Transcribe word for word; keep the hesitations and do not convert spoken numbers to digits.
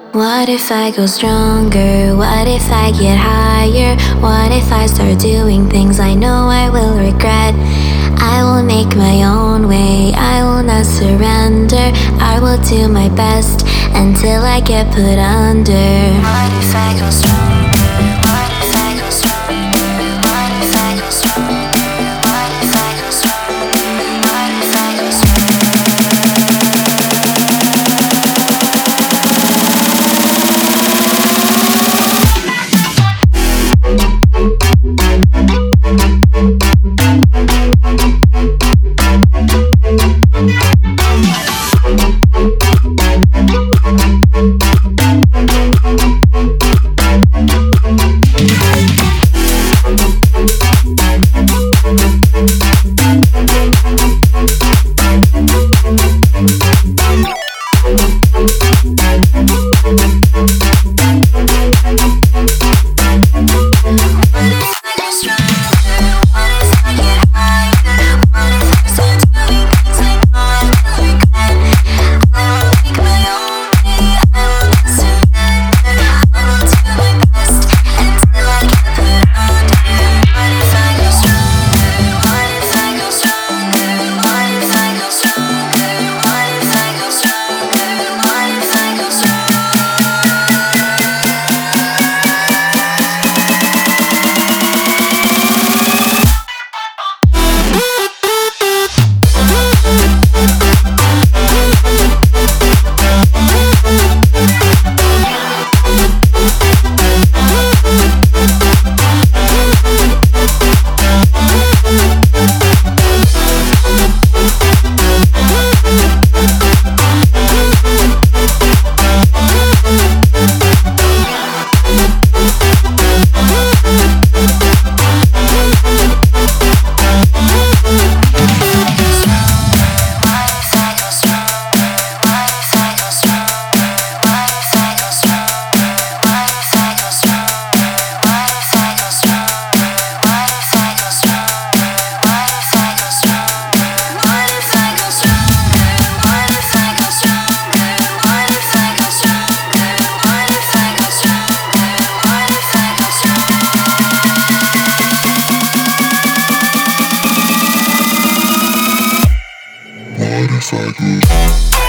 What if I go stronger? What if I get higher? What if I start doing things I know I will regret? I will make my own way, I will not surrender. I will do my best until I get put under. What if I go stronger? What if I go stronger? What if I go stronger? What if I go stronger? What if I go stronger? Cycle.